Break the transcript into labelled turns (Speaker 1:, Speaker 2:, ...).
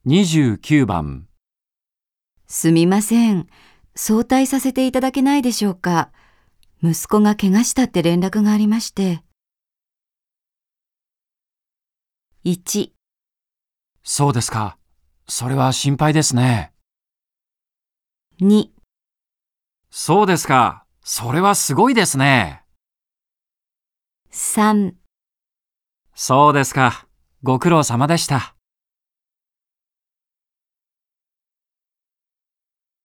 Speaker 1: 29番。
Speaker 2: すみません。早退させていただけないでしょうか。息子が怪我したって連絡がありまして。1、
Speaker 1: そうですか。それは心配ですね。
Speaker 2: 2、
Speaker 1: そうですか。それはすごいですね。
Speaker 2: 3
Speaker 1: そうですか。ご苦労様でした。